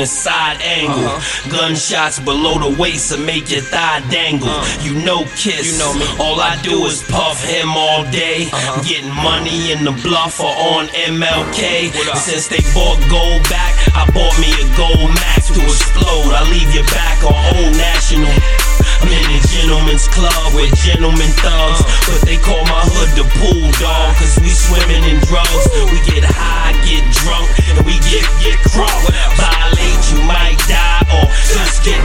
a side angle. Gunshots below the waist to make your thigh dangle. You know Kiss, you know me. All I do is puff him all day. Getting money in the bluff or on MLK. Since they bought gold back, I bought me a gold max to explode. I leave your back on Old National. I'm in a gentleman's club with gentlemen thugs, but they call my hood the pool dog, cause we swimming in drugs. We get high, get drunk, and we get crunk. Violate, you might die, or just get